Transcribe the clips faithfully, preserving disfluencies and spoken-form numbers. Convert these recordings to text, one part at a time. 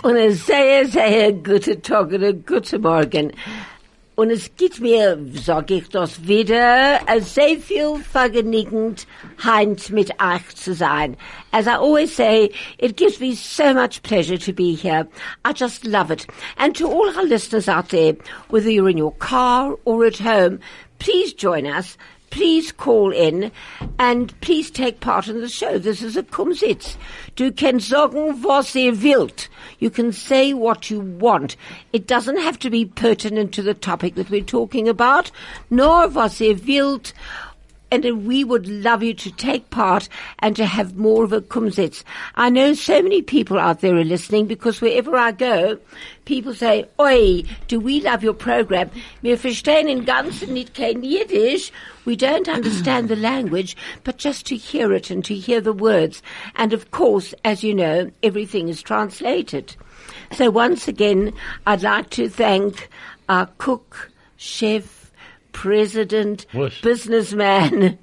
Und ein sehr, sehr guter Tag und ein guter Morgen. Und es gibt mir, sag ich das wieder, sehr viel vergnügend, heint mit euch zu sein. As I always say, it gives me so much pleasure to be here. I just love it. And to all our listeners out there, whether you're in your car or at home, please join us. Please call in and please take part in the show. This is a Kumsitz. Du kannst sagen, was ihr wollt. You can say what you want. It doesn't have to be pertinent to the topic that we're talking about, nor was ihr wollt. And we would love you to take part and to have more of a Kumsitz. I know so many people out there are listening because wherever I go, people say, Oi, do we love your program? Wir verstehen in ganzen nicht kein Yiddish. We don't understand the language, but just to hear it and to hear the words. And of course, as you know, everything is translated. So once again, I'd like to thank our cook, chef, president, What? businessman.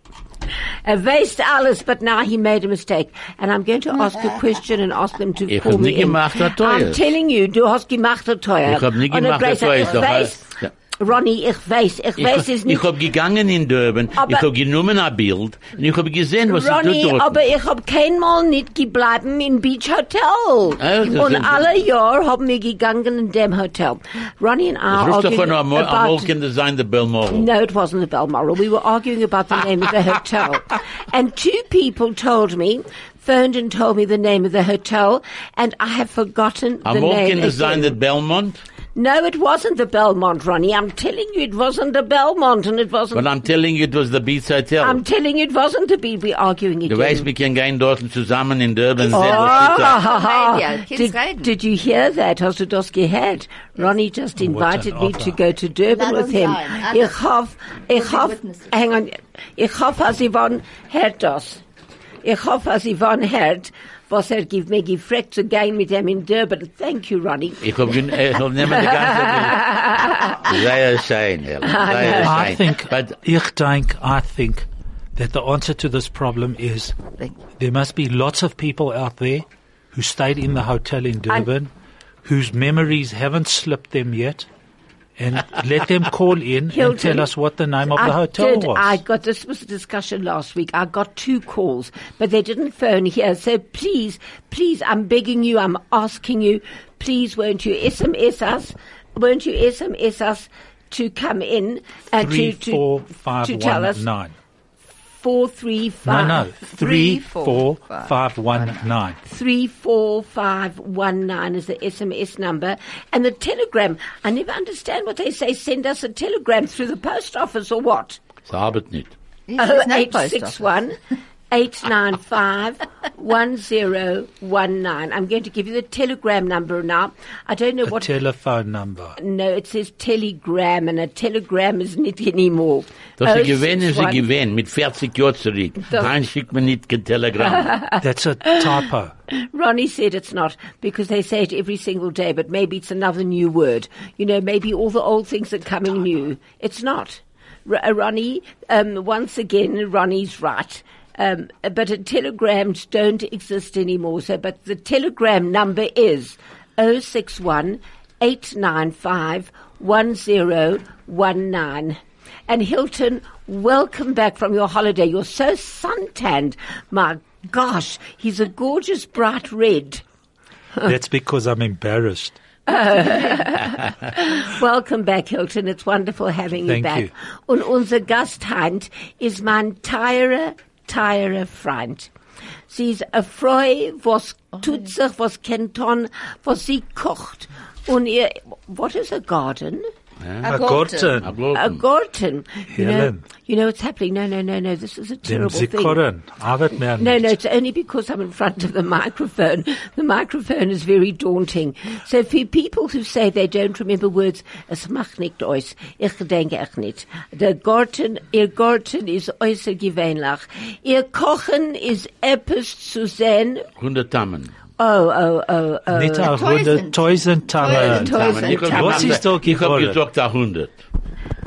Er weiß alles, but now he made a mistake. And I'm going to ask a question and ask them to Ich call hab me nicht in. gemacht, Herr Teuer. I'm telling you, du hast gemacht, Herr Teuer. Ich hab nicht Und gemacht, Herr Herr Teuer. Ich Ist doch weiß, alles- ja. Ronny, ich weiß, ich Ich, weiß es ich nicht. hab gegangen in Durban, Aber- ich hab genommen ein Bild und ich hab gesehen, was Ronny, sie tut dort. aber ich hab keinmal nicht gebleiben im Beach Hotel. Ah, das Und ist- alle Jahr haben wir gegangen in dem Hotel. Ronny and I Das ist arguing davon einmal about... könnte sein, der Balmoral. No, it wasn't the Balmoral. We were arguing about the name of the hotel. And two people told me, phoned and told me the name of the hotel, and I have forgotten the Einmal name könnte sein, der again. Belmont. No, it wasn't the Belmont, Ronnie. I'm telling you it wasn't the Belmont, and it wasn't... But I'm telling you, it was the Beach Hotel. I'm telling you it wasn't the Beach. We're arguing Du again. weißt, wir können gehen dort zusammen in Durban sehen, Oh, was sie sagt. ha, ha. Radio. Kids Did, reden. did you hear that? Hast du das gehört? Ronnie just invited an me offer. to go to Durban Let with us him. know. Ich hoffe, ich be hoffe, witnesses. hang on, ich hoffe, als Yvonne hört das. Ich hoffe, als Yvonne hört, was er gibt mir gefragt zu gehen mit ihm in Durban. Thank you, Ronnie. Ich hab, gen- äh, ich hab nehmen die ganze Sehr schön, Helen. Sehr I schön. think, But ich denk, I think that the answer to this problem is there must be lots of people out there who stayed in the hotel in Durban, whose memories haven't slipped them yet, and let them call in and Hilton, tell us what the name of the I hotel did, was. I got, this was a discussion last week. I got two calls, but they didn't phone here. So please, please, I'm begging you, I'm asking you, please won't you S M S us, won't you S M S us to come in and Three, to, to, four, five, to tell one, us nine. four, three, No, five, no, three, Three, four, four, five, five, one, nine. three, four, five, one, nine is the S M S number. And the telegram, I never understand what they say. Send us a telegram through the post office or what? es arbeitet nicht. Oh, eight six one, eight nine five, one zero one nine. I'm going to give you the telegram number now. I don't know A what... telephone number. no, it says telegram, and a telegram is not anymore. Das Oh, ist gewähnt, ist six one- gewähnt, mit vierzig Jahren zurück. Das- Nein, schickt mir nicht kein Telegramm. That's a typo. Ronnie said it's not, because they say it every single day, but maybe it's another new word. You know, maybe all the old things are coming new. It's not. R- uh, Ronnie, um, once again, Ronnie's right. Um, but uh, telegrams don't exist anymore. So, but the telegram number is oh six one, eight nine five, one zero one nine. And Hilton, welcome back from your holiday. You're so suntanned. My gosh, he's a gorgeous bright red. That's because I'm embarrassed. Welcome back, Hilton. It's wonderful having you Thank back. you. Und unser Gasthand ist mein teurer, teurer Freund. Sie ist eine Frau, was tut sich, was kennt on, was sie kocht. Und ihr, what is a garden? A garden. A garden. You know, Helen. you know what's happening? No, no, no, no. This is a Dem terrible thing. Zikoren. Arbeit mehr No, nicht. no, it's only because I'm in front of the microphone. The microphone is very daunting. So for people who say they don't remember words, es macht nicht aus. Ich denke echt nicht. Der Garten, ihr Garten ist äußerst gewöhnlich. Ihr Kochen ist etwas zu sehen. hundert Tammen. Oh, oh, oh, oh. Nicht a Tausend. hundert, tausend Tannen. Tausend. Ich hab Tammen. Was gemacht- ist da Ich hab geworden? gesagt, a hundert.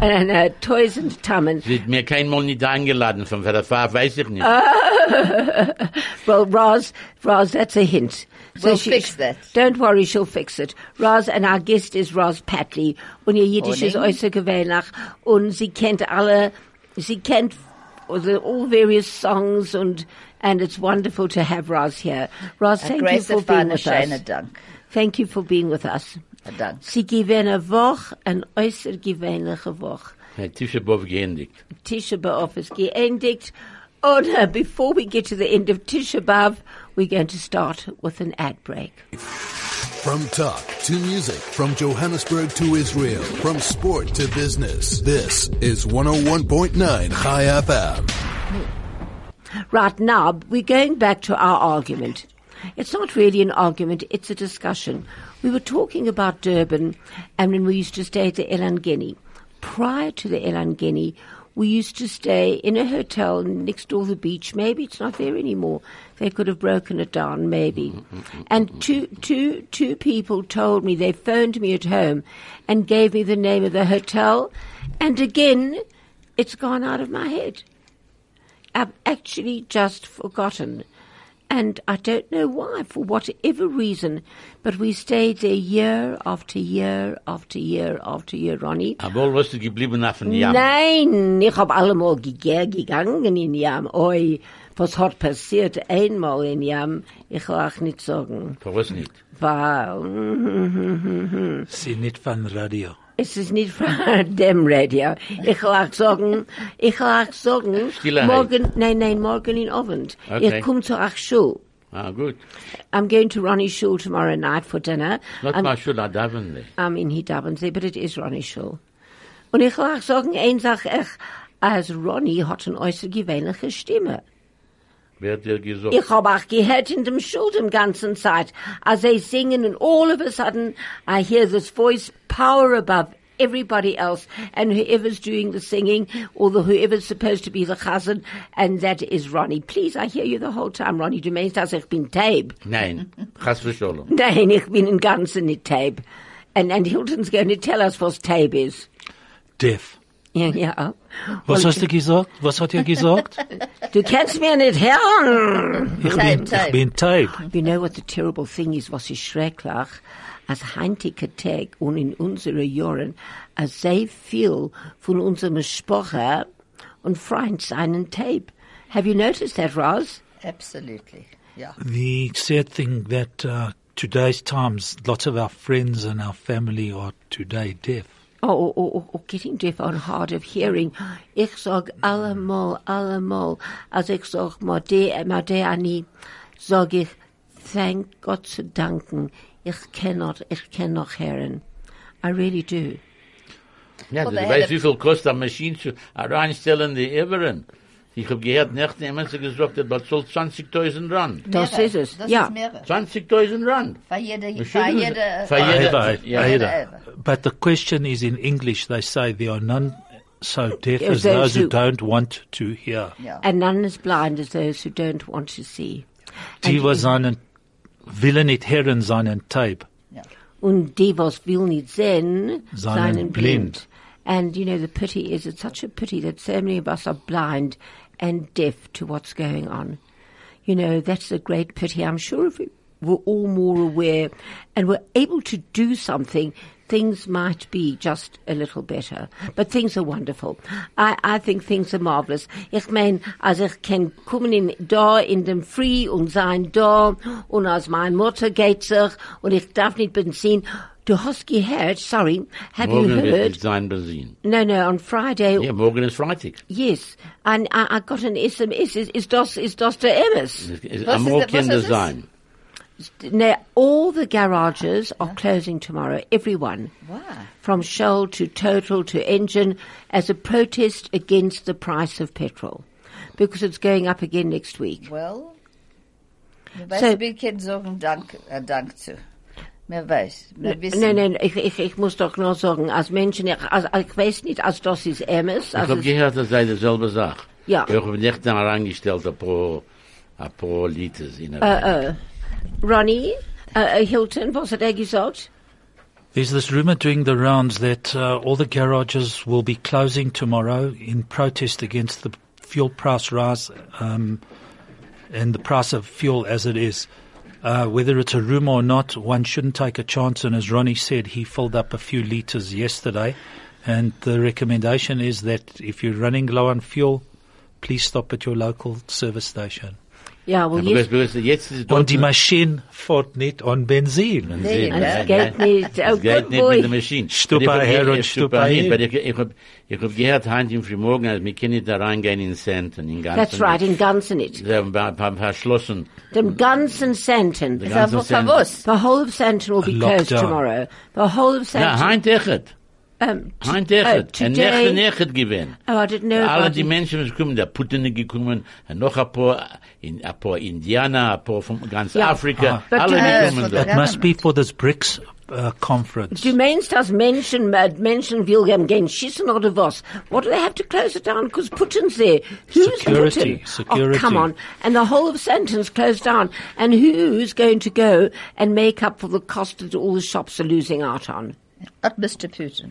and uh, Toys and Tummen. Sie hat mir kein Mal nicht eingeladen, von der Farbe weiß ich nicht. Well, Roz, Roz, that's a hint. We'll fix that. Don't worry, she'll fix it. Roz, and our guest is Roz Patley. Und ihr Jiddisch ist äußerst gewöhnlich. Und sie kennt alle, sie kennt the, all various songs and, and it's wonderful to have Roz here. Roz, thank you for being with us. Dank. Thank you for being with us. Dank. Sie gewähne eine Woche, eine äußerst gewöhnliche Woche. Herr Tisha B'Av geendigt. Tisha B'Av is geendigt. Oh no, before we get to the end of Tisha B'Av, we're going to start with an ad break. From talk to music, from Johannesburg to Israel, from sport to business, this is one oh one point nine Chai F M. Right now, we're going back to our argument. It's not really an argument, it's a discussion. We were talking about Durban and when we used to stay at the Elangeni. Prior to the Elangeni, we used to stay in a hotel next door to the beach. Maybe it's not there anymore. They could have broken it down, maybe. And two, two, two people told me, they phoned me at home and gave me the name of the hotel. And again, it's gone out of my head. I've actually just forgotten. And I don't know why, for whatever reason, but we stayed there year after year after year after year, Ronnie. Aber was du geblieben auf dem Jam? Nein, ich hab allemal ge- gegangen in Jam. Oi, was hat passiert einmal in Jam? Ich will auch nicht sagen. Was nicht? Weil, Sie nicht von Radio. es ist nicht von dem Radio. Ich will auch sagen, ich will auch sagen, Stille morgen, nein, nein, morgen in Abend. Okay. Ich komme zu euch Schule. Ah, gut. I'm going to Ronnie's Shul tomorrow night for dinner. Not I'm, my shul, I daven. I'm in Hidabensee, but it is Ronnie's Shul. Und ich will auch sagen, eins sag ich, als Ronnie hat eine äußerst gewöhnliche Stimme. Wer hat dir gesagt? Ich habe auch gehört in dem Schul die ganze Zeit, als sie singen and all of a sudden I hear this voice power above everybody else and whoever's doing the singing or the whoever's supposed to be the chazan and that is Ronnie. Please, I hear you the whole time, Ronnie. Du meinst, dass ich bin taub? Nein, chas v'sholom. Nein, ich bin im Ganzen nicht taub. And, and Hilton's going to tell us what taub is. Deaf. Ja, ja. Was Well, hast du gesagt? Was hat er gesagt? du kannst mir nicht hören. Ich Tape, bin, tape. ich bin taub. You know what the terrible thing is, was ist schrecklich? Als heintige Tag und in unseren Jahren, als sehr viel von unserem Sprache und Freund seinen Tape. Have you noticed that, Roz? Absolutely. Yeah. The sad thing that uh, today's times, lots of our friends and our family are today deaf. Or, or, or, or getting deaf or hard of hearing. Ich sag allemal, allemal, als ich sag, Made, Made Ani, sag ich, thank Gott zu danken, ich cannot, ich kann noch hören. I really do. Ja, Well, du they weißt, had a- wie viel kostet eine Maschine zu reinstellen, die Everen. Ich hab gehört, nicht jemand hat gesagt, das bezahlt zwanzigtausend Rand. Das Mehrere. ist es, Das ja. ist mehrere. zwanzigtausend Rand. Für jede, für Entschuldigung, jede, für jede- Either, ja. either. Either. But the question is in English, they say there are none so deaf Yes, as those those who who- don't want to hear. yeah. And none as blind as those who don't want to see. Die, And- was seinen, willen nicht hören, seinen taub. Yeah. Und die, was will nicht sehen, Seien seien blind. And, you know, the pity is, it's such a pity that so many of us are blind and deaf to what's going on. You know, that's a great pity. I'm sure if we were all more aware and were able to do something, things might be just a little better. But things are wonderful. I, I think things are marvelous. Ich mein, als ich kann kommen in, da in dem Free und sein da und als mein Mutter geht sich und ich darf nicht Benzin. Du hast gehört, sorry, have Morgen you wird heard? es sein Benzin. No, no, on Friday. Ja, morgen ist Freitag. Yes, and I, I got an S M S. Is, is das is das der Emmis? Es- es- Was Einmal ist das- was kann das ist das? sein. Now, all the garages are closing tomorrow. Everyone, Why? from Shell to Total to Engine, as a protest against the price of petrol, because it's going up again next week. Well, mir So- weiß, wie kann sagen Dank, äh, Dank zu. Mir weiß, mir wissen. Nein, nein, ich, ich, ich muss doch nur sagen, als Menschen, ich, als, ich weiß nicht, als das ist Emmis. Ich hab gehört, das sei dieselbe Sache. Ja. Ich hab nicht dann herangestellt, ein paar, ein paar Liters in der Äh, äh, Ronnie, äh, äh, Hilton, was hat er gesagt? There's this rumor doing the rounds that uh, all the garages will be closing tomorrow in protest against the fuel price rise um, and the price of fuel as it is. Uh, whether it's a rumor or not, one shouldn't take a chance. And as Ronnie said, he filled up a few litres yesterday. And the recommendation is that if you're running low on fuel, please stop at your local service station. Ja, well, Ja, jetzt, because, because jetzt ist Und die dort- Maschine fährt nicht an Benzin. Benzin, Ja, ja, es geht ja. nicht. Oh, Es geht good nicht boy. mit der Maschine. Stupa Aber ich hab- her ich- und ich- Stupa hin, hin. aber Ich, ich habe ich hab gehört heute im Frühmorgen, also wir können nicht da reingehen in Centen, in ganzen. That's right, in Gansenit. Sie haben ein paar verschlossen. Dem ganzen Senten. Die Ist ganzen aber Centen. verwusst. The whole of Senten will be closed Lockdown. tomorrow. The whole of Ja, Senten. heint echt. um, t- Heint oh, echt. Ein today. Nächte Nächte gewesen. Oh, I didn't know Alle about die it. Menschen sind gekommen, der Putin ist gekommen, und noch ein paar, in, ein paar Indianer, ein paar von ganz Ja. Afrika, But alle du meinst- gekommen Ja. da. It must be for this BRICS uh, conference. Du meinst, dass Menschen, äh, Menschen will gehen gehen schießen oder was? What do they have to close it down? Because Putin's there. Who's Security, Putin? security. Oh, come on. And the whole of Sentence closed down. And who's going to go and make up for the cost that all the shops are losing out on? Not Mister Putin.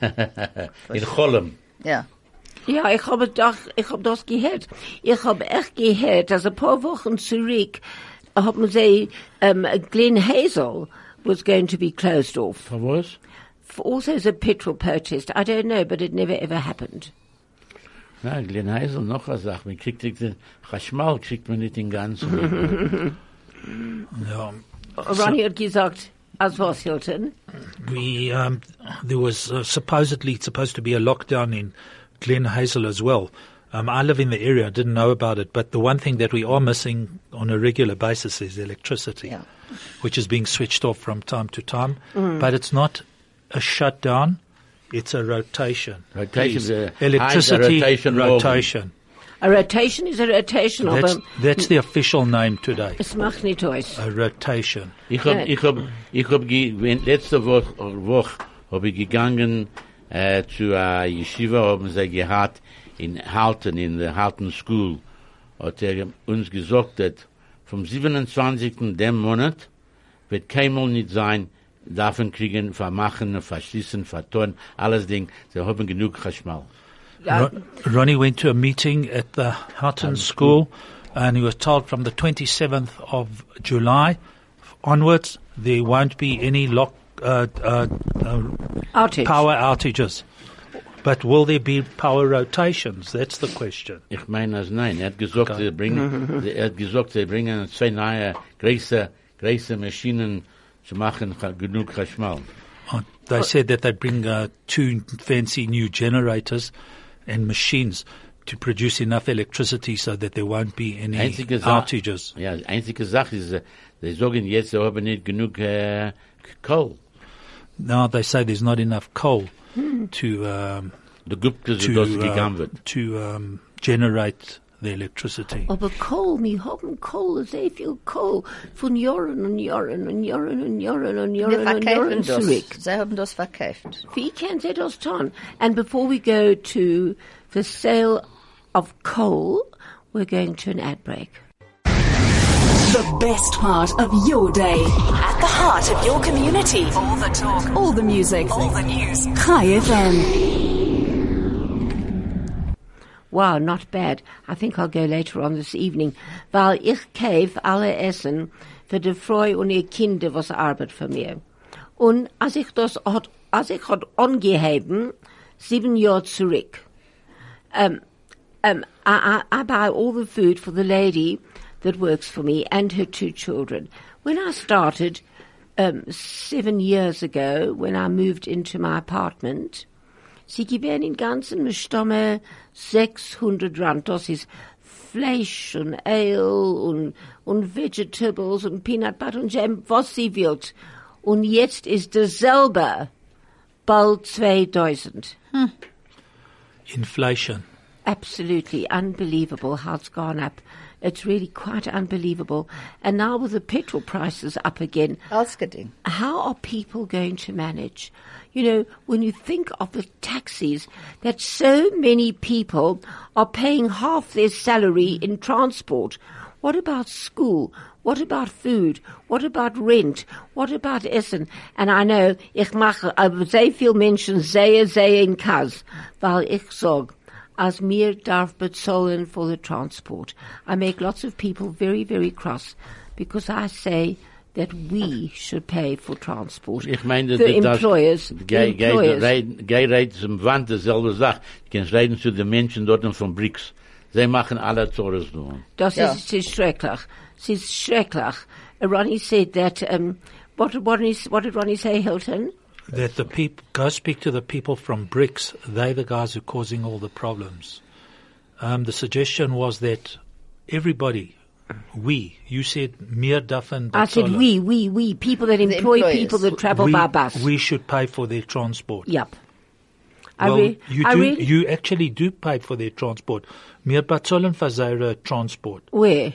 In Cholm. Ja. Ja, ich habe doch, ich habe das gehört. Ich habe echt gehört, dass ein paar Wochen zurück haben sie, um, Glen Hazel was going to be closed off. For was? For also as a petrol protest. I don't know, but it never ever happened. Na, Glen Heisel noch eine Sache. Man kriegt den Chashmal, kriegt man nicht den ganzen. Yeah. Ronnie hat gesagt, as was, Hilton? We um, there was uh, supposedly supposed to be a lockdown in Glen Hazel as well. Um, I live in the area, I didn't know about it, but the one thing that we are missing on a regular basis is electricity, Yeah. which is being switched off from time to time. But it's not a shutdown; it's a rotation. Rotation, Please. uh, electricity high- rotation rotation. A rotation is a rotation, That's, aber that's the official name today. es macht nicht aus. A rotation. Ich hab, Ja. ich hab, ich hab, ge- wenn- letzte Woche, Woche hab ich gegangen, äh, zu einer Yeshiva, haben sie gehabt, in Halton, in der Halton School, hat er uns gesagt, dass vom siebenundzwanzigsten dem Monat wird keinmal nicht sein, davon kriegen, vermachen, verschließen, vertun, alles Ding, sie haben genug Chashmal. Ja, Ron- Ronnie went to a meeting at the Houghton School, and he was told from the twenty-seventh of July onwards there won't be any lock uh, uh, uh, outage. power outages. But will there be power rotations? That's the question. Ich meine, als nein, er hat gesagt, sie bringen, er hat gesagt, sie bringen zwei neue, große, große Maschinen zu machen, genug Chashmal. Uh, They said that they bring uh, two fancy new generators and machines to produce enough electricity so that there won't be any Einzige Sache, outages. ja, die einzige Sache ist, äh, sie sagen jetzt, sie haben nicht genug äh, Kohl. Now they say there's not enough coal to um, Der Gupke, so to dass uh, gegangen wird. to um, generate the electricity. Aber Kohl, wir haben Kohl, sehr viel Kohl, von Jahren und Jahren und Jahren und Jahren und Wir Jahren und Jahren verkaufen das. zurück. Sie haben das verkauft. Wie can they das tun? And before we go to the sale of coal, we're going to an ad break. The best part of your day. At the heart of your community. All the talk. All the music. All the news. Chai F M. Wow, not bad. I think I'll go later on this evening. Weil ich kauf alle Essen für die Frau und ihr Kinder, was arbeitet für mir. Und als ich das hat, als ich hat angeheben, sieben Jahre zurück, um, um, I, I, I buy all the food for the lady that works for me and her two children. When I started, um, seven years ago, when I moved into my apartment, sie gewähren in ganzen Stamme sechshundert Rand. Das ist Fleisch und Ale und, und Vegetables und Peanut Butter und Jam, was sie will. Und jetzt ist dasselbe bald zweitausend. Inflation. Absolutely unbelievable how it's gone up. It's really quite unbelievable. And now with the petrol prices up again, Ausgeding. how are people going to manage? You know, when you think of the taxis, that so many people are paying half their salary in transport. What about school? What about food? What about rent? What about Essen? And I know, ich mache aber sehr viel Menschen sehr, sehr in Kaz, weil ich sag, as mir darf bezahlen for the transport. I make lots of people very, very cross because I say that we should pay for transport. Ich meine, the das, employers, geh, the employers. Geh reden zum Wand, dasselbe Sache. Du kannst reden zu den Menschen dort von Bricks. Sie machen alle Zores nur. Das Ja. ist, es ist schrecklich. Es ist schrecklich. Uh, Ronnie said that, um, what, what, is, what did Ronnie say, Hilton? That the people, go speak to the people from BRICS. They're the guys who are causing all the problems. Um, the suggestion was that everybody, we, you said mir dafen I said we, we, we, people that employ employers. people that travel we, by bus. we should pay for their transport. Yep. I Well, re- you I do, really, you actually do pay for their transport. Mir bezahlen für ihre transport. where?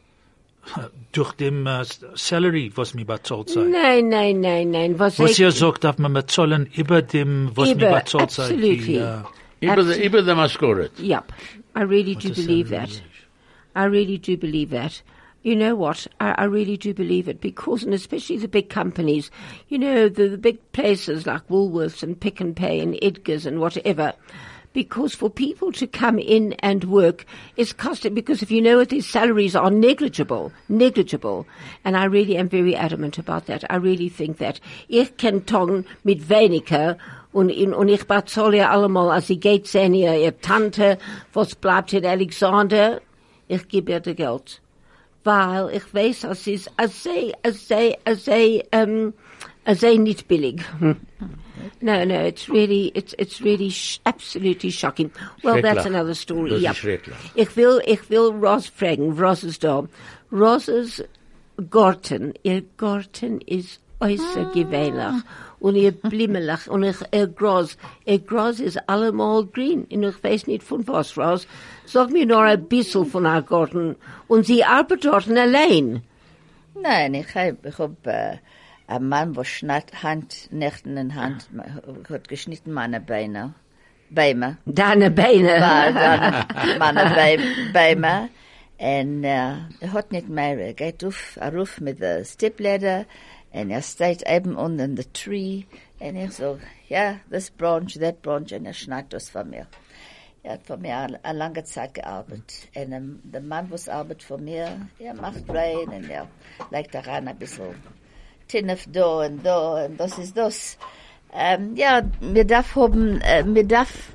Durch dem uh, salary, was mir bezahlt sei. Nein, nein, nein, nein. Was, Was ich- ihr sagt, darf man bezahlen über dem, was mir Über, bezahlt sei. absolutely. Die, uh, Über the, über the Maskoret. Yep. I really do What a believe salary that. I really do believe that. You know what? I, I really do believe it because, and especially the big companies, you know, the, the big places like Woolworths and Pick and Pay and Edgar's and whatever, because for people to come in and work is costing, because if you know what, their salaries are negligible, negligible. And I really am very adamant about that. I really think that. Ich kann tun mit weniger und, in, und ich bezahle ja allemal, als sie geht sehen, ihr, ihr Tante, was bleibt in Alexander, ich gebe ihr das Geld. Weil ich weiß, es ist, es sei, es sei, es sei, um, es sei nicht billig. No, no, it's really, it's, it's really sh- absolutely shocking. Well, that's Schrecklich. another story. Das Yep. ist schrecklich. Ich will, ich will Ross fragen, Ross ist da. Rosses Garten, ihr Garten ist äußerst gewöhnlich. Und ihr Blimmelach, und ich, ihr Gras, ihr Gras ist allemal grün. Und ich weiß nicht von was, Ross. Sag mir noch ein bisschen von our Garten. Und sie arbeitet dort allein. Nein, ich hab, ich hab, äh, ein Mann, der schnitt Hand, Nächten in Hand, hat geschnitten meine Beine. Beine. Deine Beine. Weil dann meine Be- Beine. Und, äh, er hat nicht mehr, er geht auf, er ruf mit der Stepladder, und er steht eben unten in the tree, und ich so, ja, this branch, that branch, und er schneidet das von mir. Er hat von mir eine, eine lange Zeit gearbeitet. Und ähm, der Mann, was arbeitet von mir, er macht rein, und er legt da rein ein bisschen Tinnef da und da, und das ist das. Ähm, ja, wir darf haben, äh, wir darf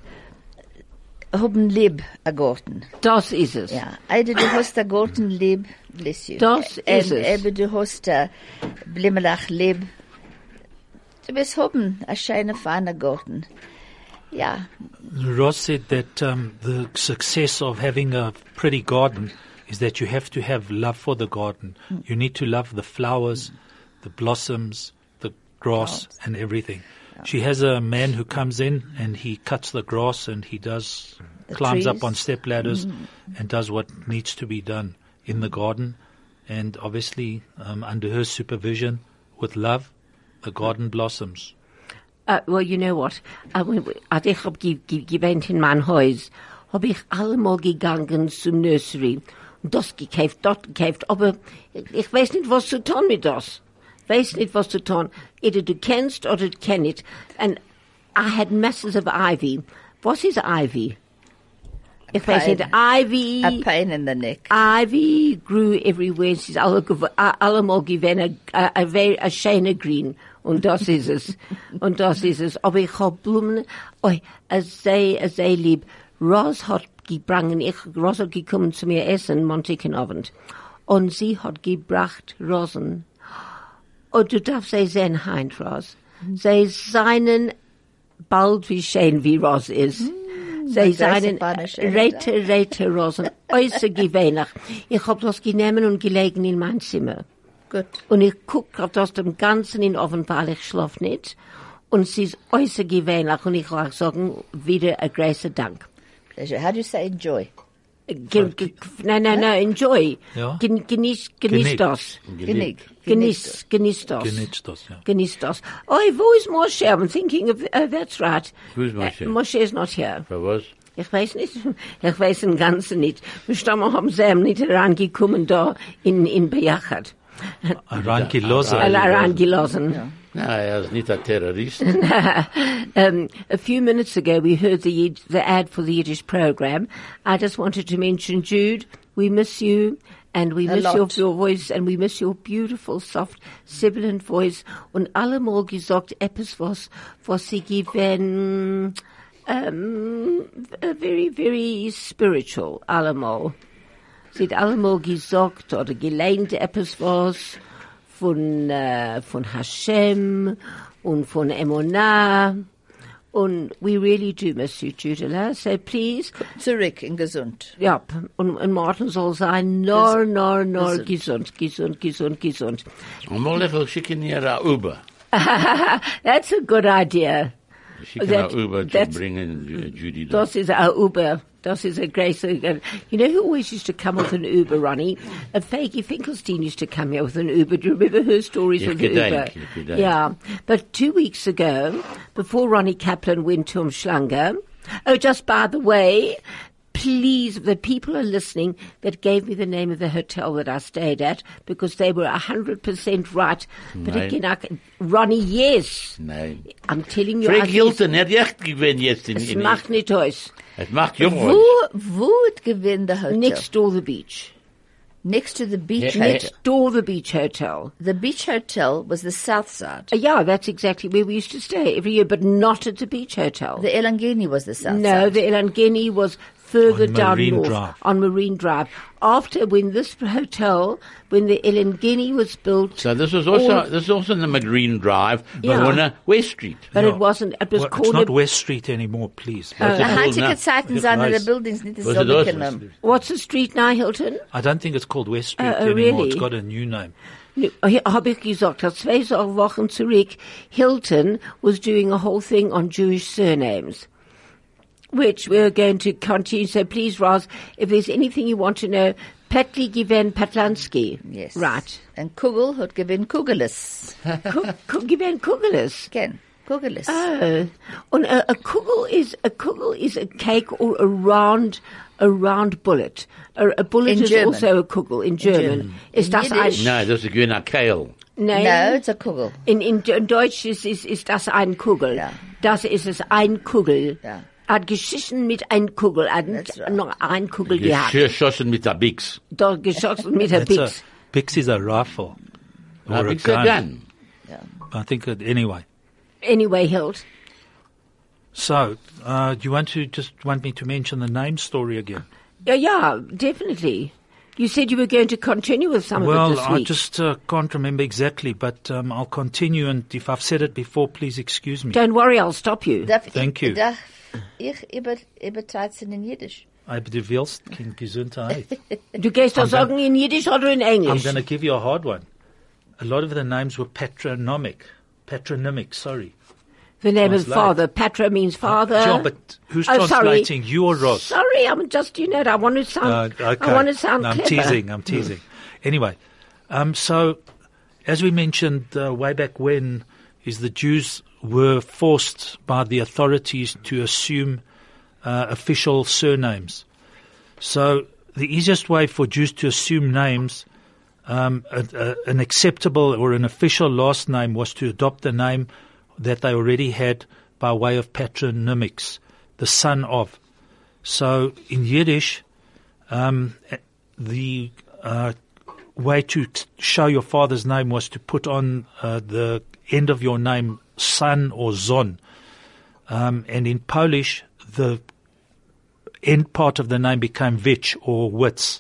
haben lieb a Garten. Das ist es. Ja, either du hast a Garten lieb, bless you. Das ist es. Eben du hast a Blimmelach lieb. Du wirst haben a schöne, feine Garten. Ja, Ross said that um, the success of having a pretty garden is that you have to have love for the garden. You need to love the flowers, the blossoms, the grass, and everything. She has a man who comes in and he cuts the grass and he does The climbs up trees. on step ladders and does what needs to be done in the garden. And obviously, um, under her supervision, with love, the garden blossoms. Uh, well, you know what? Uh, when, als ich hab ge ge gewähnt in mein Haus, hab ich allemal gegangen zum Nursery und das gekauft, dort gekauft, aber ich weiß nicht, was zu tun mit das. Weiß nicht, was zu tun. Either du kennst oder du kennst nicht. And I had masses of ivy. Was ist ivy? Ich weiß nicht, ivy... a pain in the neck. Ivy grew everywhere. Sie ist alle, gew- a- allemal gewesen, a, a, very, a schöner Green. Und das ist es. Und das ist es. Aber ich hab Blumen, oi, a sehr, a sehr lieb. Ross hat gebracht, ich, Ross hat gekommen zu mir essen, Montagnabend. Und sie hat gebracht Rosen. Und du darfst sie sehen, Heinz, Ross. Sie seien bald wie schön wie Ross ist. Sie das seien ist eine schöne Reite, Reite Rosen, äußerst gewöhnlich. Ich hab das genommen und gelegen in mein Zimmer. Gut. Und ich guck grad aus dem Ganzen in den Ofen, weil ich schlaf nicht. Und sie ist äußerst gewöhnlich. Und ich will auch sagen, wieder ein großer Dank. Pleasure. How do you say enjoy? Ge, ge, nein, nein, nein, enjoy. Ja. Gen, genieß, genieß Genick. das. Genick. Genieß, genieß das. Genieß das, ja. Genieß das. Oh, wo ist Moshe? I'm thinking of, uh, that's right. Who's Moshe? Uh, Moshe is not here. For was? Ich weiß nicht, ich weiß den Ganzen nicht. Wir stammen haben sie ihm nicht herangekommen da in, in Bejachat. Rangelassen. Rangelassen. No, er ist nicht ein Terrorist. um, a few minutes ago, we heard the, Yid- the ad for the Yiddish program. I just wanted to mention, Jude, we miss you, and we A miss your, lot. your voice, and we miss your beautiful, soft, sibilant voice. Und allemal gesagt, etwas, was, was sie given, um, very, very spiritual, allemal. Sie hat allemal gesagt, oder gelehnt etwas was, von, äh, von Hashem und von Emunah. Und we really do miss you, Judela. So please, Zurück in gesund. ja, und, und Martin soll sein, nor, nor, nor, Gesund. gesund, gesund, gesund, gesund. Und mal ich will schicken ihr ein Uber. That's a good idea. Schicken That- ein Uber zu that's- bringen, Ju- Judy. da. Das is a Uber. Das is a great, you know who always used to come with an Uber, Ronnie? A Faggy Finkelstein used to come here with an Uber. Do you remember her stories Ich with the gedenk, Uber? ich gedenk. Yeah. But two weeks ago, before Ronnie Kaplan went to Umschlanger, oh, just by the way, please, the people are listening that gave me the name of the hotel that I stayed at because they were a hundred percent right. But Nein. again, I, can- Ronnie, yes. Nein. I'm telling you. Frank I- Hilton, er hat recht gewinnt jetzt in, Es in, macht nicht aus. es macht jung Wo, wo it gewinnt the hotel? Next door the beach. Next to the beach. Yeah, hotel. Next door the beach hotel. The beach hotel was the south side. Uh, yeah, that's exactly where we used to stay every year, but not at the beach hotel. The Elangeni was the south no, side. the Elangeni was further On down Marine north Drive. on Marine Drive. After when this hotel, when the Elangeni was built, So this was also, all- this is also in the McGreen Drive, Yeah. but on uh, West Street. but Yeah. it wasn't. It was Well, it's called. not a- West Street anymore, please. What's The it called high-ticket now? Zeiten Ja, sind in the weiß. buildings nicht Was it dasselbe was? genommen. What's the street now, Hilton? I don't think it's called West Street Uh, oh, anymore. really? It's got a new name. Habe ich gesagt, dass zwei so Wochen zurück, Hilton was doing a whole thing on Jewish surnames, which we're going to continue. So please, Roz, if there's anything you want to know, Petli Given Patlansky. Yes. Right. And Kugel hat gewinnt Kugelis. Given Kugelis. Ken. Kugelis. Oh. And a, a kugel is, a kugel is a cake or a round, a round bullet. A, a bullet In is German. also a kugel in German. German. Is In das ein, Yiddish. No, das ist gewinn a Keil. Nein. No, it's a Kugel. In, in, in Deutsch ist, ist, ist das ein Kugel. Ja. Das ist es, ein Kugel. Ja. Hat geschissen mit ein Kugel. Hat That's right. noch ein Kugel gehabt. Geschossen mit der Bix. Da geschossen mit der That's a, Bix. Bix is a rifle. Or A a Bix a gun. gun. I think that, anyway. Anyway, Hilt. So, uh, do you want to just want me to mention the name story again? Yeah, yeah, definitely. You said you were going to continue with some of it Well, this I week. just uh, can't remember exactly, but um, I'll continue. And if I've said it before, please excuse me. Don't worry, I'll stop you. Darf Thank ich, you. Darf ich über, übertreiben in Jiddisch? Aber du willst kein Gesundheit. Du gehst doch I'm sagen in Yiddish oder in I'm English? going to give you a hard one. A lot of the names were patronymic. Patronymic, sorry. The name of Translate. father. Patra means father. Yeah, but who's Oh, sorry. translating? You or Ross? Sorry, I'm just, you know, I want to sound, Uh, okay. I want to sound no, I'm clever. teasing. I'm teasing. Anyway, um, so as we mentioned uh, way back when, is the Jews were forced by the authorities to assume uh, official surnames. So the easiest way for Jews to assume names, um, a, a, an acceptable or an official last name, was to adopt a name that they already had by way of patronymics, the son of. So in Yiddish, um, the uh, way to t- show your father's name was to put on uh, the end of your name son or zon. Um, and in Polish, the end part of the name became Vich or Witz.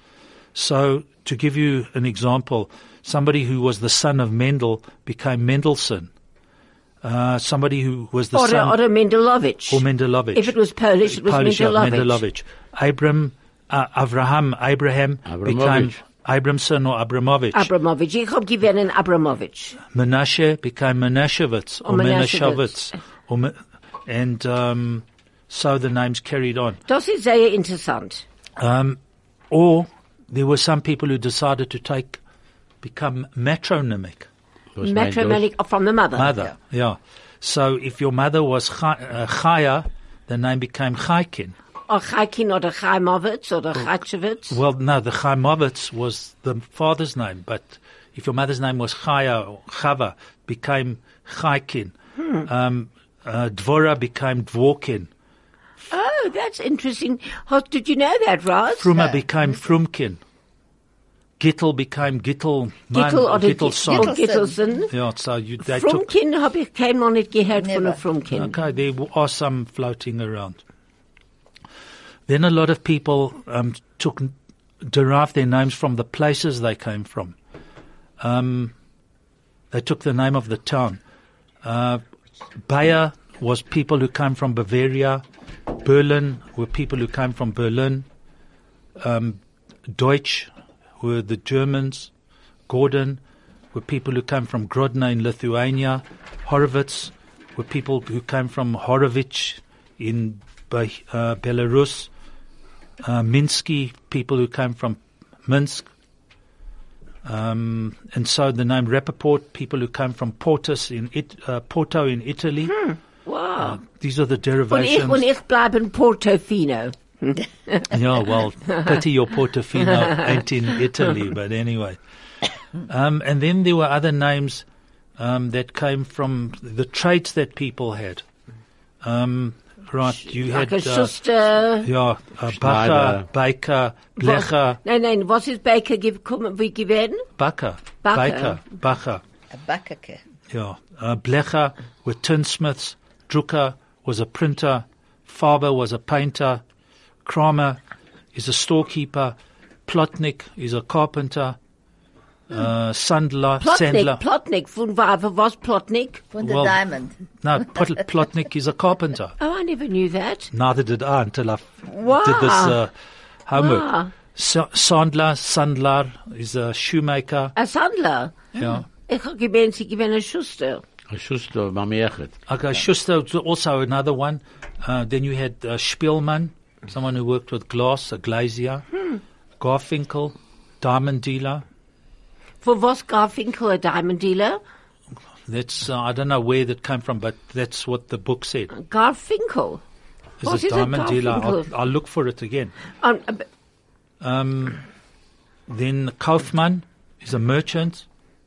So to give you an example, somebody who was the son of Mendel became Mendelssohn. Uh, somebody who was the Or, son or Mendelovich. or Mendelovich. If it was Polish, it was Polish, yeah, Mendelovich. Mendelovich. Abram, uh, Avraham, Abraham became Abramovich. Abramson or Abramovich. Abramovich. Ich hab gewonnen Abramovich. Menashe became Menashevitz or Or Menashevitz. Menashevitz. Or Me- and um, so the names carried on. Das ist sehr interessant. Um, or there were some people who decided to take, become matronymic. Was meint das? Matrimonic from the mother. Mother, yeah. So if your mother was Cha- uh, Chaya, the name became Chaikin. Or Chaikin oder Chaimovitz oder Chaitchevitz. Well, no, the Chaimovitz was the father's name, but if your mother's name was Chaya or Chava, became Chaikin. Hmm. Um, uh, Dvora became Dvorkin. Oh, that's interesting. How, did you know that, Roz? Fruma uh, became Frumkin. Gittel became Gittel. Gittel oder Gittelson. Gittelson. Yeah, so you, they Frumkin habe ich keinmal nicht gehört von der Frumkin. Okay, there are some floating around. Then a lot of people um, took derived their names from the places they came from. Um, they took the name of the town. Uh, Bayer was people who came from Bavaria. Berlin were people who came from Berlin. Um, Deutsch were the Germans. Gordon were people who came from Grodno in Lithuania. Horovitz were people who came from Horovich in uh, Belarus. Uh, Minsky, people who came from Minsk. Um, and so the name Rappaport, people who came from Portus in it, uh, Porto in Italy. Hmm. Wow. Uh, these are the derivations. Und ich, und ich bleibe in Portofino. Yeah, well, pity your Portofino ain't in Italy, but anyway. Um, and then there were other names um, that came from the trades that people had. Um, right, you like had... a Schuster. Ja, uh, Bacher, Baker, Blecher. Nein, nein, was ist Baker gekommen, wie gewesen? Bacher, Baker. Baker, Bacher. A Backerke. Yeah, uh, Blecher were tinsmiths. Drucker was a printer. Faber was a painter. Kramer is a storekeeper. Plotnik is a carpenter. Uh, Sandler, Plotnik, Sandler. Plotnik, von was Plotnik? Von the Well, diamond. No, Plot- Plotnik is a carpenter. Oh, I never knew that. Neither did I until I f- Wow. did this uh, homework. Wow. Sa- Sandler, Sandler is a shoemaker. A Sandler. Yeah. Ich habe gemeint, sie gewinnen Schuster. A Schuster, Mamechet. Okay, Schuster was also another one. Uh, then you had uh, Spielmann, someone who worked with glass, a glazier. Hmm. Garfinkel, diamond dealer. Von was Garfinkel, a diamond dealer? That's uh, I don't know where that came from, but that's what the book said. Garfinkel. Is What a is a diamond dealer. I'll, Garfinkel? I'll look for it again. Um, uh, b- Um, then Kaufmann is a merchant.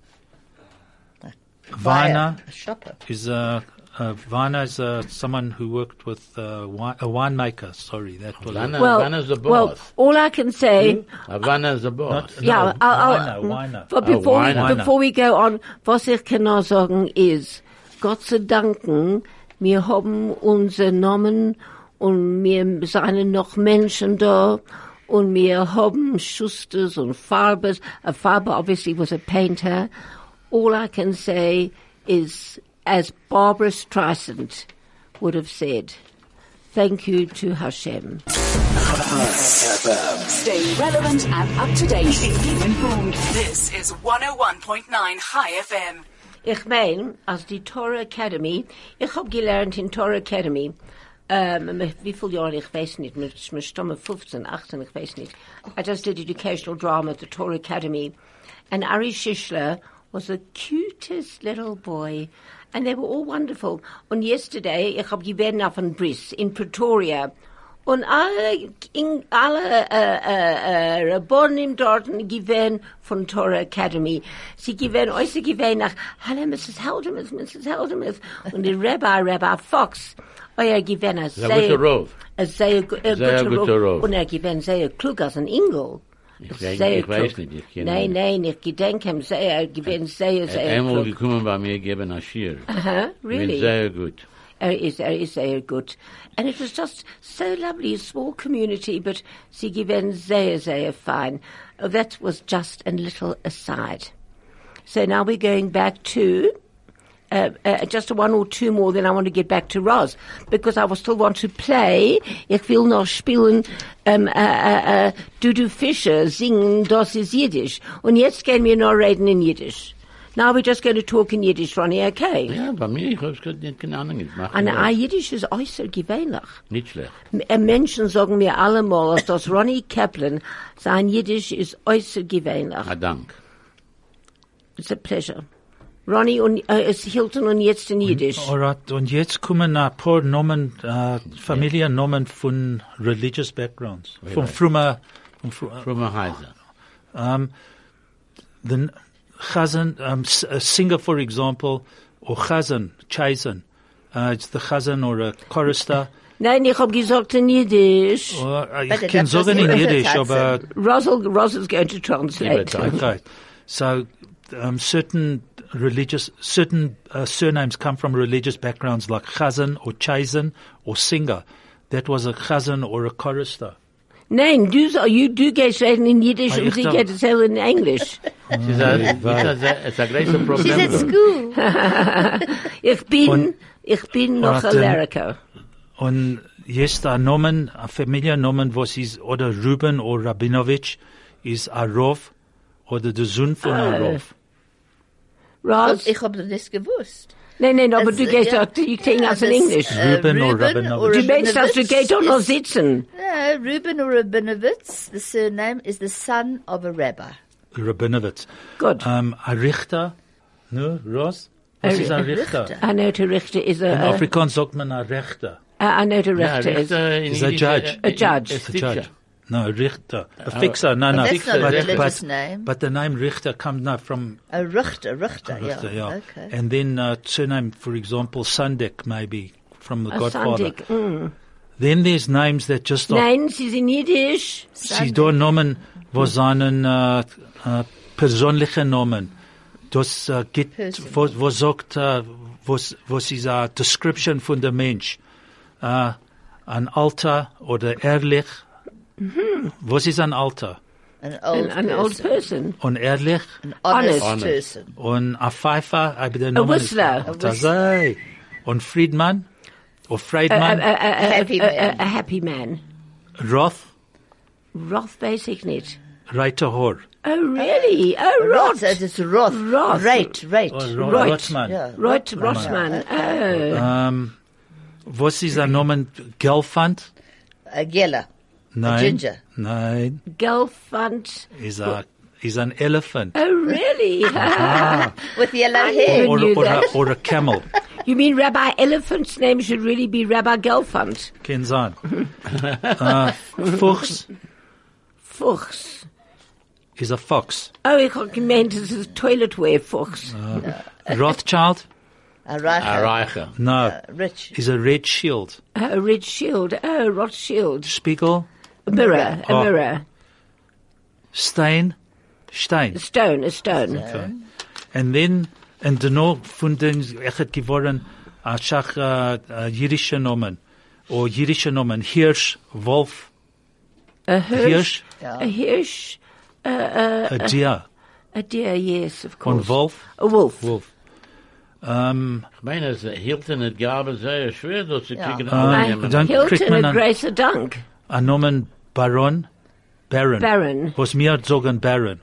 Weiner A shopper. is a, uh, Weiner is uh, someone who worked with uh, wine, a winemaker. Sorry, that was Havana, well, Havana's the well, boss. all I can say, Havana's the boss. Not- yeah, No, I'll, Weiner, I'll, Weiner. but before, Oh, Weiner. we, before we go on, was ich kann noch sagen ist, Gott sei Dank, wir haben unsere Namen und wir sind noch Menschen da und wir haben Schusters und Farbers. A Farber obviously was a painter. All I can say is, as Barbara Streisand would have said, thank you to Hashem. Stay relevant and up to date. Keep informed. This is one oh one point nine High F M. Ich mein, als die Torah Academy, ich hab gelernt in Torah Academy, ähm, wie viele Jahre, ich weiß nicht, mit, mit Stamme fifteen, eighteen, ich weiß nicht. I just did educational drama at the Torah Academy. And Ari Shishler was the cutest little boy. And they were all wonderful. Und yesterday, ich hab gewesen auf ein Bris in Pretoria. Und alle, in, alle äh, äh, äh, Rabbonim dort gewesen von Torah Academy. Sie gewesen, äußer gewesen nach, hallo Missus Heldemuth, Missus Heldemuth. Und der Rabbi, Rabbi Fox, oh, er gewesen als Sehr guter Rov. Ein sehr, gu- ein Sehr guter guter Rov. Rov. Und er gewesen sehr klug als ein Engel. Ich, Sehr denk, ich klug. weiß nicht, ich kenne Nein, ihn. nein, ich gedenke ihm sehr, er gewesen sehr, Er hat sehr einmal klug. gekommen bei mir geben ein Schir. Uh-huh, Ich really? bin sehr gut. Er is, er is very good. And it was just so lovely, a small community, but sie given sehr, sehr fine. Oh, that was just a little aside. So now we're going back to, uh, uh, just one or two more, then I want to get back to Roz, because I will still want to play. Ich will noch spielen, um, uh, uh, uh, Dudu Fischer singen, das ist Yiddish. Und jetzt gehen wir noch reden in Yiddish. Now we're just going to talk in Yiddish, Ronnie, okay? Ja, bei mir, ich hab's gerade nicht keine Ahnung. Ich mache Und das. ein Jiddisch ist äußerst gewöhnlich. Nicht schlecht. M- Menschen sagen mir allemal, dass Ronnie Kaplan, sein Jiddisch ist äußerst gewöhnlich. Ah, Dank. It's a pleasure. Ronnie und, äh, es Hilton und jetzt in Jiddisch. Alright, und jetzt kommen ein paar Namen, äh, Familiennamen von religious backgrounds. Von früher, von früher, Früher Heiser. um, the Chazan, um, a singer, for example, or Chazan, Chazan, uh, it's the Chazan or a chorister. Nein, ich hab gesagt in Jiddisch. Or, uh, But ich kann das was sagen in ihr Yiddish, sagt, aber, Russell, Russell's going to translate. okay. So, um, certain religious, certain uh, surnames come from religious backgrounds like Chazan or Chazan or singer. That was a Chazan or a chorister. Nein, du, so- you do gehst reden in Jiddisch Ah, und ich sie darf- geht es in Englisch. Sie sagt, es ist ein großes She's Problem. at school. Ich bin, Und- ich bin noch Und, ähm, Alerico. Und jetzt ein Nomen, ein Familiennomen, was ist, oder Ruben oder Rabinovich, ist Arov, oder der Sohn von Ah. Arov. Ros? Ich hab das gewusst. Nein, nein, aber Es, du gehst ja, doch, du klingst ja, aus in das, Englisch. äh, Ruben or Ruben Rabinovich. or Du meinst, dass du Rabinovich gehst doch noch is- sitzen. No, Ruben or Rabinovitz, the surname, is the son of a rabbi. Rabinovich. Gut. Um, ein Richter, ne, Ross? Was Ein ist ein Richter. Richter? I know the Richter is In a, Afrikaans sagt man ein Richter. uh, I know the Ja, Richter is. Richter in Is a Jiddisch, judge. äh, A judge. ist A Teacher. judge. No, a Richter. A fixer. No, no. That's Fixer, not a but- religious but, name. but the name Richter comes now from A Richter, Richter, Richter, yeah. yeah. Okay. And then uh, surname, for example, Sandek, maybe, from the A Godfather. Sandik. Mm. Then there's names that just are Nein, sie sind Jiddisch. Sie da Namen, wo seinen äh, äh, persönliche Namen. Das äh, geht, Person. wo, wo sagt, äh, was, was ist eine Description von der Mensch. Äh, ein Alter oder ehrlich. Was ist ein Alter? An old An, an old person. person. Und ehrlich. An honest, Honest. person. Und ein Pfeifer, aber der Name Whistler. ist, das sei. Und Friedmann. Oder A, Friedmann. a, a, a, Happy a, man. a, a happy man. Roth. Roth basic nicht. Reiter Hor. Oh, really? Oh, Roth, Roth. it is Roth. Roth. Right, right. Oh, Ro- Right. Rothmann. Yeah. Roth Rossmann. Oh. Ähm, was ist ein Name? Gelfand? A Geller. Nein. ginger. Nein. Gelfand. Is a is an elephant. Oh, really? With yellow I hair. never Or, knew or, a, that. or a camel. You mean Rabbi Elephant's name should really be Rabbi Gelfand? Can sein. uh, Fuchs Fuchs. is a fox. Oh, ich hab gemeint, es ist Toiletware Fuchs. Rothschild? A Reicher. A Reicher. No. Uh, rich. Is a red shield. A red shield. Oh, Rothschild. Spiegel? A mirror. A Oh. mirror. Stein? Stein. A stone. A stone. Okay. And then, and daarna von den, ich het geworden, a schach, uh, uh, jiddische Namen. Or jiddische Namen. Hirsch, Wolf, A hirsch. Hirsch, A hirsch. A, a, a deer. a deer, yes, of course. Und Wolf? A wolf. Wolf. Um, Ich meine, es hielt in het Gabe sehr schwer, dort zu kriegen. Ah, annehmen. dann kriegt Hilton man a an, Grace a Dunk. a Namen Baron, Baron. Baron. Was mir sagen Baron.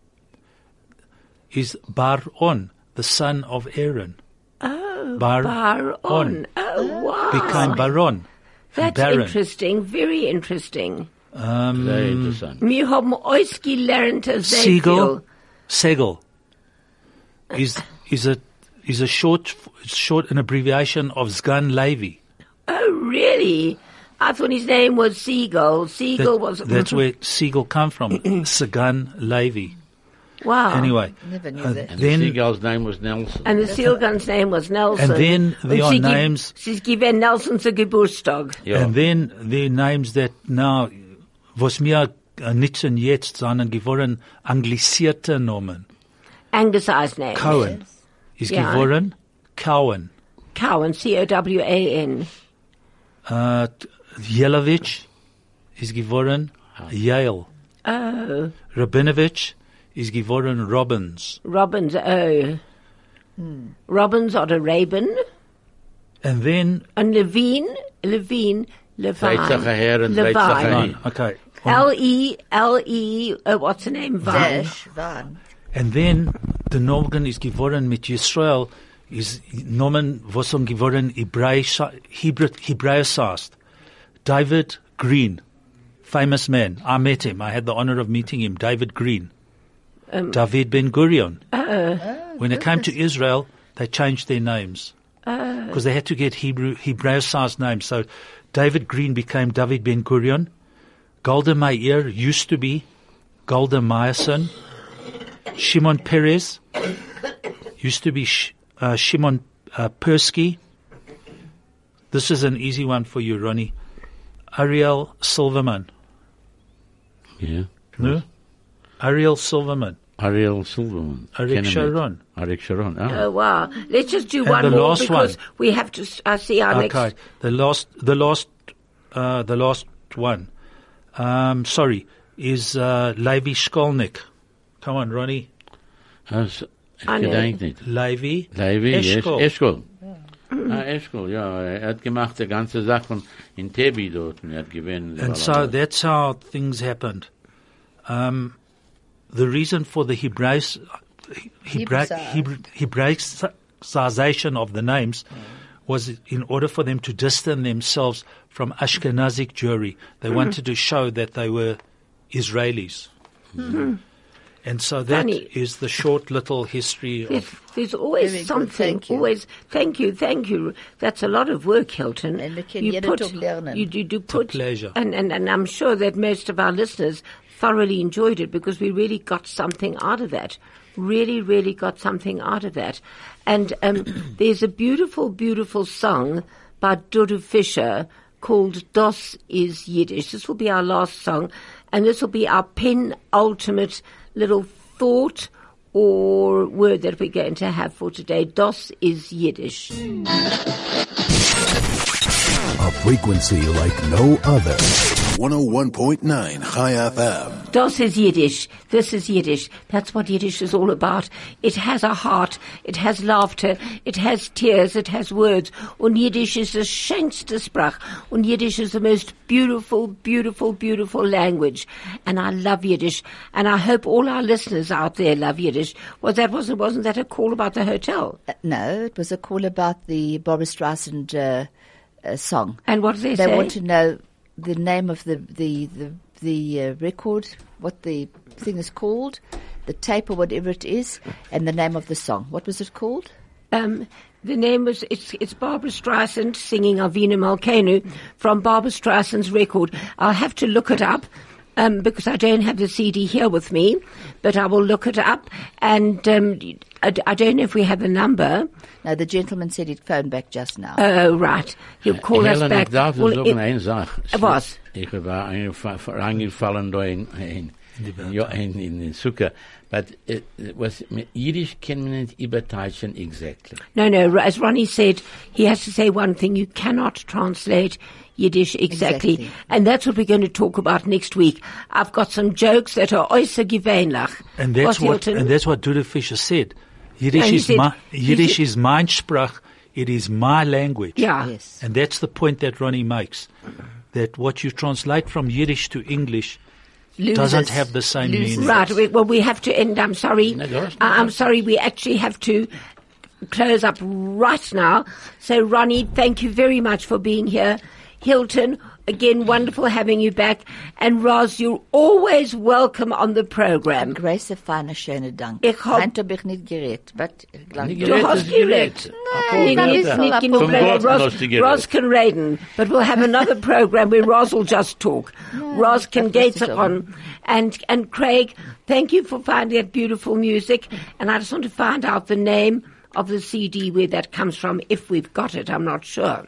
Is Baron, the son of Aaron. Oh, Bar- Bar on. Oh, wow. Became Baron. That's Baron. interesting. Very interesting. Sehr interessant. Wir haben ausgelernt sehr Siegel, viel. Segel. Is, is a, is a short, short, an abbreviation of Sgan Levi. Oh, really? I thought his name was Siegel. Siegel That- was... that's where Siegel come from. Sagan Levi. Wow. Anyway. Never knew uh, that. And then, the seagull's name was Nelson. And the Sealgun's name was Nelson. And then there Und are sie gibt- names- Sie given Nelson zu Geburtstag. Ja. and then the names that now, was mir uh, nützen jetzt, sondern geworden anglisierte Namen. Anglicized name. Cohen is Ja. geworden Cowan. Cowan, C O W A N. Uh, Jelovich is geworden Yale. Oh, Rabinovich is geworden Robbins. Robbins, oh. Robbins oder Raben. And then, And Levine, Levine, Zweitsache Levine. her and Zweitsache Levine. hin. okay. L E, L E, uh, what's the name? Vine. Dash, Van. And then, the Nomen is geworden mit Yisrael, is Nomen, was um geworden Hebräisch, Hebrew, Hebraicized. David Green, famous man. I met him. I had the honor of meeting him. David Green. Um, David Ben Gurion. Uh, when it came to Israel, they changed their names because they had to get Hebrew Hebraicized names. So David Green became David Ben Gurion. Golda Meir used to be Golda Meyerson. Shimon Peres used to be Sh- uh, Shimon uh, Persky. This is an easy one for you, Ronnie. Ariel Silverman. Yeah. No? Ariel Silverman. Ariel Silverman. Arik Sharon. Arik Sharon. Ah. oh, wow. Let's just do And one the more last because one. we have to uh, see our Okay. next. The last, the last, uh, the last one. Um, sorry, is uh, Levi Shkolnik. Come on, Ronnie. Has, ik Ah, nee. gedenk niet. Levi. Levi, yes. Eshkol. Eshkol. Ah, Eshkol, ja. Er hat gemacht die ganze Sache von in Tebi dort. Er hat gewinnt. And so that's how things happened. Um, the reason for the Hebraic, Hebra- Hebra- Hebraicization of the names was in order for them to distance themselves from Ashkenazic Jewry. They wanted to show that they were Israelis. Mm-hmm. And so that Funny. is the short little history There's, of... there's always Very good, something. thank you. Always, thank you, thank you. That's a lot of work, Hilton. And we can jeder Tag lernen. you, you do put, pleasure. And, and and I'm sure that most of our listeners thoroughly enjoyed it because we really got something out of that. Really, really got something out of that. And um, there's a beautiful, beautiful song by Dodo Fischer called Das is Yiddish. This will be our last song, and this will be our penultimate little thought or word that we're going to have for today. Das is Yiddish. A frequency like no other. one oh one point nine Chai F M. Das is Yiddish. This is Yiddish. That's what Yiddish is all about. It has a heart. It has laughter. It has tears. It has words. Und Yiddish is the schönste Sprach. Und Yiddish is the most beautiful, beautiful, beautiful language. And I love Yiddish. And I hope all our listeners out there love Yiddish. Was that wasn't wasn't that a call about the hotel? Uh, no, it was a call about the Barbra Streisand uh, uh, song. And what did they, They say? want to know the name of the the the, the uh, record, what the thing is called, the tape or whatever it is, and the name of the song. What was it called? Um, the name was, it's, it's Barbra Streisand singing Avinu Malkeinu from Barbra Streisand's record. I'll have to look it up, um, because I don't have the C D here with me, but I will look it up. And, um, I, I don't know if we have the number. No, the gentleman said he'd phone back just now. Oh, right. He'll call us Helen, back. ich darf Well, sagen it- eine Sache. Was? Ich war eingef- reingefallen da in, in, ja, in, in den Zucker. But uh, was, Yiddish can man nicht übertreiben exactly. No, no, as Ronnie said, he has to say one thing. You cannot translate Yiddish exactly. Exactly. And that's what we're going to talk about next week. I've got some jokes that are äußerst gewöhnlich. And that's Was, what, Hilton? and that's what Dodo Fischer said. Yiddish And he is said- my, he Yiddish said- is mein Sprach. It is my language. Yeah. Yes. And that's the point that Ronnie makes. That what you translate from Yiddish to English Losers. doesn't have the same Losers. meaning. Right. We, well, we have to end. I'm sorry. No, that's Uh, I'm sorry. We actually have to close up right now. So, Ronnie, thank you very much for being here. Hilton, again, wonderful having you back. And Roz, you're always welcome on the program. Grace, feine, schöne Dank. Ich hab- Heint hab ich nicht geredet, but ich glaub, Nicht Du geredet, hast ist geredet. Nein, Nee, nee, das ist ist nicht doch genug Vom reden. Gott Roz, hast du geredet. Roz can reden, but we'll have another program where Roz will just talk. Roz can das get ist it doch- on. And, and Craig, thank you for finding that beautiful music. And I just want to find out the name of the C D where that comes from, if we've got it. I'm not sure.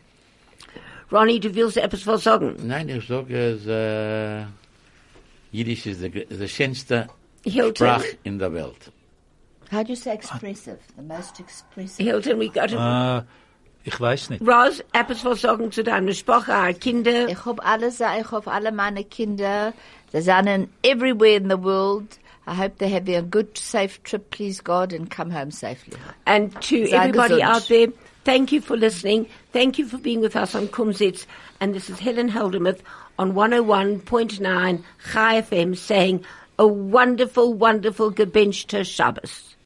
Ronnie, du willst etwas was sagen? Nein, ich sage, es, äh, Yiddish ist die, die schönste Hilton. Sprache in der Welt. how do you say expressive? The most expressive. Hilton, we got it. Uh, ich weiß nicht. Roz, etwas was sagen zu deiner Sprache, our Kinder. Ich hab alle, sa- ich hab alle meine Kinder. Sie sind everywhere in the world. I hope they're having a good, safe trip, please God, and come home safely. And to Sei everybody gesund. out there, thank you for listening. Thank you for being with us on Kumsitz. And this is Helen Heldemuth on one oh one point nine Chai F M saying a wonderful, wonderful gebenchte Shabbos.